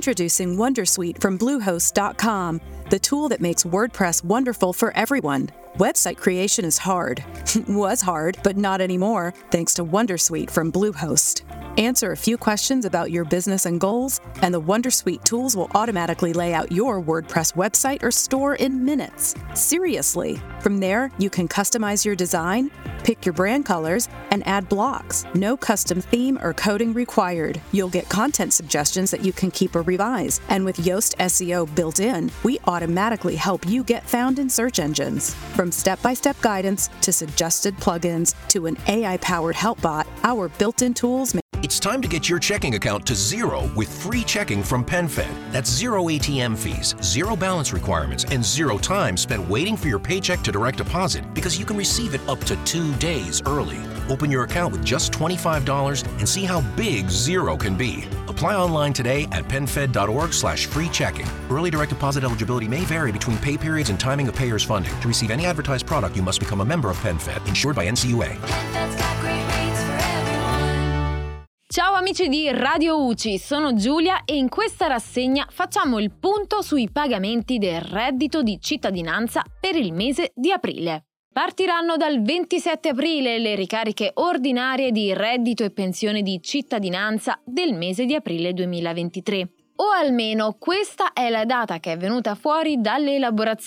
Introducing Wondersuite from Bluehost.com, the tool that makes WordPress wonderful for everyone. Website creation is hard. Was hard, but not anymore, thanks to Wondersuite from Bluehost. Answer a few questions about your business and goals, and the Wondersuite tools will automatically lay out your WordPress website or store in minutes. Seriously. From there, you can customize your design, pick your brand colors, and add blocks. No custom theme or coding required. You'll get content suggestions that you can keep or revise. And with Yoast SEO built in, we automatically help you get found in search engines. From step-by-step guidance to suggested plugins to an AI-powered help bot, our built-in tools make It's time to get your checking account to zero with free checking from PenFed. That's zero ATM fees, zero balance requirements, and zero time spent waiting for your paycheck to direct deposit because you can receive it up to 2 days early. Open your account with just $25 and see how big zero can be. Apply online today at PenFed.org/free checking. Early direct deposit eligibility may vary between pay periods and timing of payers' funding. To receive any advertised product, you must become a member of PenFed, insured by NCUA. Ciao amici di Radio UCI, sono Giulia e in questa rassegna facciamo il punto sui pagamenti del reddito di cittadinanza per il mese di aprile. Partiranno dal 27 aprile le ricariche ordinarie di reddito e pensione di cittadinanza del mese di aprile 2023. O almeno questa è la data che è venuta fuori dalle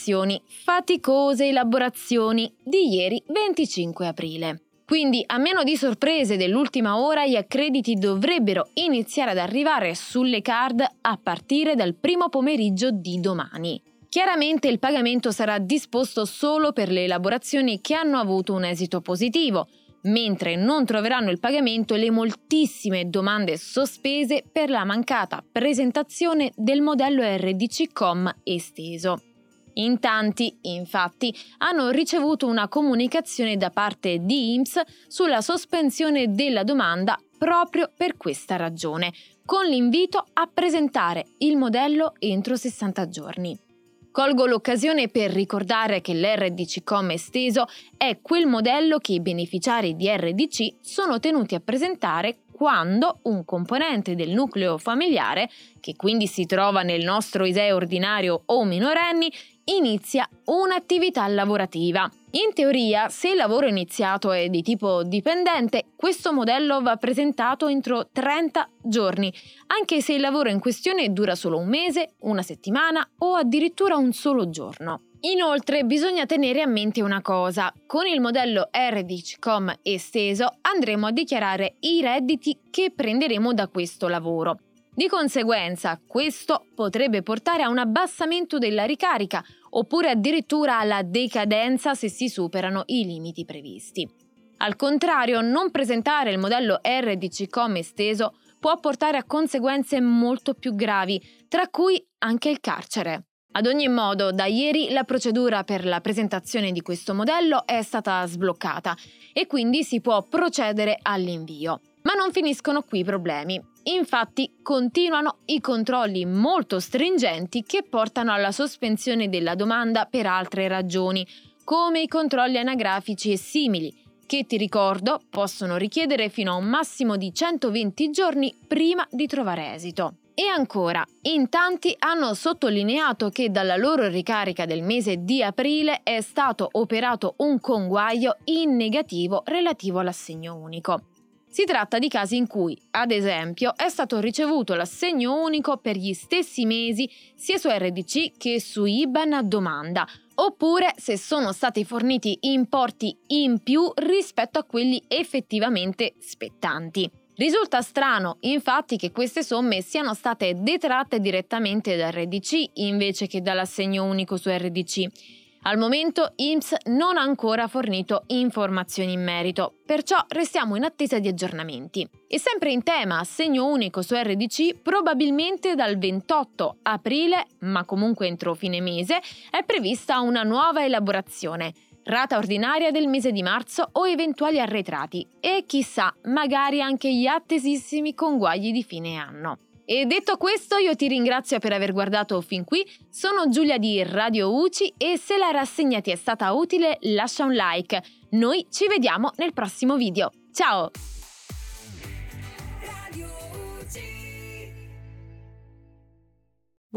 faticose elaborazioni di ieri 25 aprile. Quindi, a meno di sorprese dell'ultima ora, gli accrediti dovrebbero iniziare ad arrivare sulle card a partire dal primo pomeriggio di domani. Chiaramente il pagamento sarà disposto solo per le elaborazioni che hanno avuto un esito positivo, mentre non troveranno il pagamento le moltissime domande sospese per la mancata presentazione del modello RDC-Com esteso. In tanti, infatti, hanno ricevuto una comunicazione da parte di INPS sulla sospensione della domanda proprio per questa ragione, con l'invito a presentare il modello entro 60 giorni. Colgo l'occasione per ricordare che l'RDC-Com esteso è quel modello che i beneficiari di RDC sono tenuti a presentare quando un componente del nucleo familiare, che quindi si trova nel nostro ISEE ordinario o minorenni, inizia un'attività lavorativa. In teoria, se il lavoro iniziato è di tipo dipendente, questo modello va presentato entro 30 giorni, anche se il lavoro in questione dura solo un mese, una settimana o addirittura un solo giorno. Inoltre bisogna tenere a mente una cosa: con il modello RDC-Com esteso andremo a dichiarare i redditi che prenderemo da questo lavoro. Di conseguenza, questo potrebbe portare a un abbassamento della ricarica, oppure addirittura alla decadenza se si superano i limiti previsti. Al contrario, non presentare il modello RDC-Com esteso può portare a conseguenze molto più gravi, tra cui anche il carcere. Ad ogni modo, da ieri la procedura per la presentazione di questo modello è stata sbloccata e quindi si può procedere all'invio. Ma non finiscono qui i problemi. Infatti, continuano i controlli molto stringenti che portano alla sospensione della domanda per altre ragioni, come i controlli anagrafici e simili, che ti ricordo possono richiedere fino a un massimo di 120 giorni prima di trovare esito. E ancora, in tanti hanno sottolineato che dalla loro ricarica del mese di aprile è stato operato un conguaglio in negativo relativo all'assegno unico. Si tratta di casi in cui, ad esempio, è stato ricevuto l'assegno unico per gli stessi mesi sia su RDC che su IBAN a domanda, oppure se sono stati forniti importi in più rispetto a quelli effettivamente spettanti. Risulta strano, infatti, che queste somme siano state detratte direttamente da RDC invece che dall'assegno unico su RDC. Al momento INPS non ha ancora fornito informazioni in merito, perciò restiamo in attesa di aggiornamenti. E sempre in tema assegno unico su RDC, probabilmente dal 28 aprile, ma comunque entro fine mese, è prevista una nuova elaborazione, rata ordinaria del mese di marzo o eventuali arretrati e chissà, magari anche gli attesissimi conguagli di fine anno. E detto questo, io ti ringrazio per aver guardato fin qui, sono Giulia di Radio UCI e se la rassegna ti è stata utile lascia un like. Noi ci vediamo nel prossimo video. Ciao!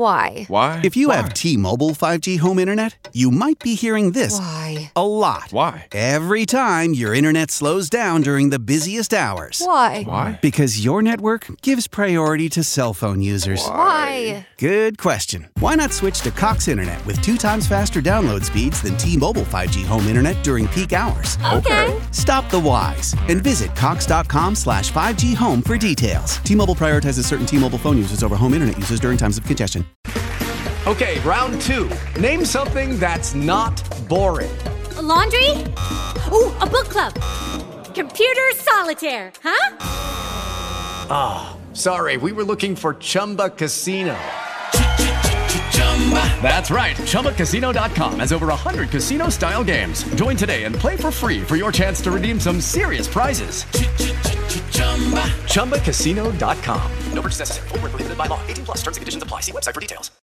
Why? Why? If you have T-Mobile 5G home internet, you might be hearing this Why? a lot. Why? Every time your internet slows down during the busiest hours. Why? Why? Because your network gives priority to cell phone users. Why? Good question. Why not switch to Cox Internet with 2 times faster download speeds than T-Mobile 5G home internet during peak hours? Okay. Stop the whys and visit cox.com/5G home for details. T-Mobile prioritizes certain T-Mobile phone users over home internet users during times of congestion. Okay, round 2. Name something that's not boring. A laundry? Ooh, a book club. Computer solitaire, huh? Sorry, we were looking for Chumba Casino. That's right. ChumbaCasino.com has over 100 casino-style games. Join today and play for free for your chance to redeem some serious prizes. ChumbaCasino.com. No purchase necessary. Void where prohibited by law. 18+ terms and conditions apply. See website for details.